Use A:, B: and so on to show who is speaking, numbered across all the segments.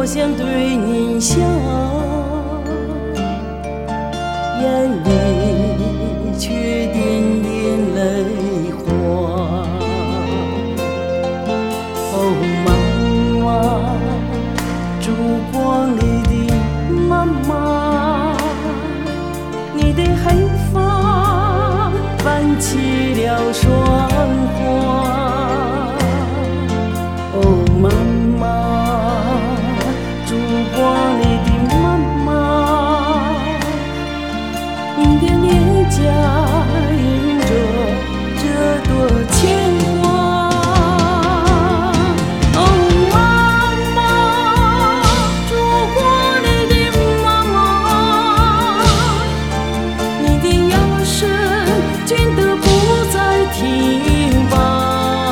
A: 想对你笑，眼里却点点泪花。哦，妈妈，烛光里的妈妈，你的黑发泛起了霜花。哦，妈妈，烛光里的妈妈，你的脸颊印着这朵牵挂。哦，妈妈，烛光里的妈妈，你的腰身倦得不再挺拔。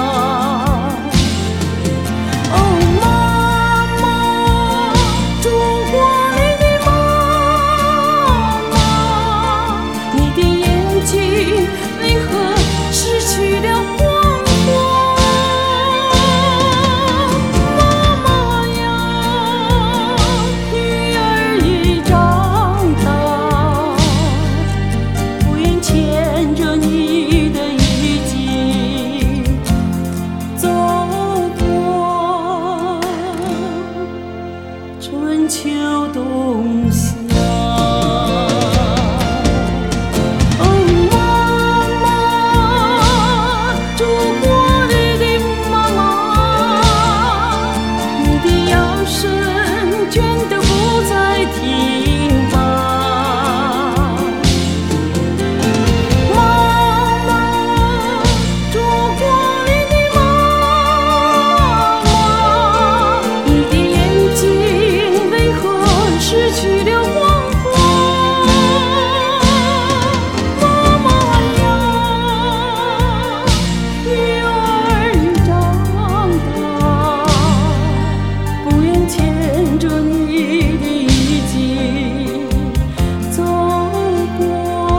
A: 春秋冬夏，哦，妈妈，烛光里的妈妈，你的腰身倦得不再挺拔。妈妈，烛光里的妈妈，你的眼睛为何失去了光华？妈妈呀，女儿已长大，不愿牵着你的衣襟走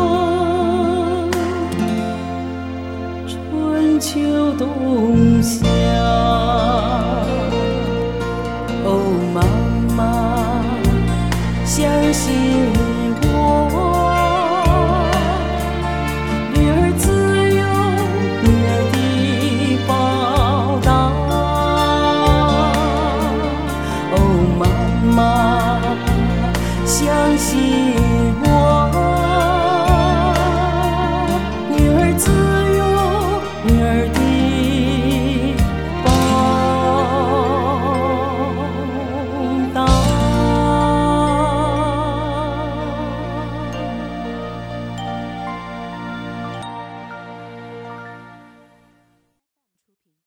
A: 过春秋冬夏。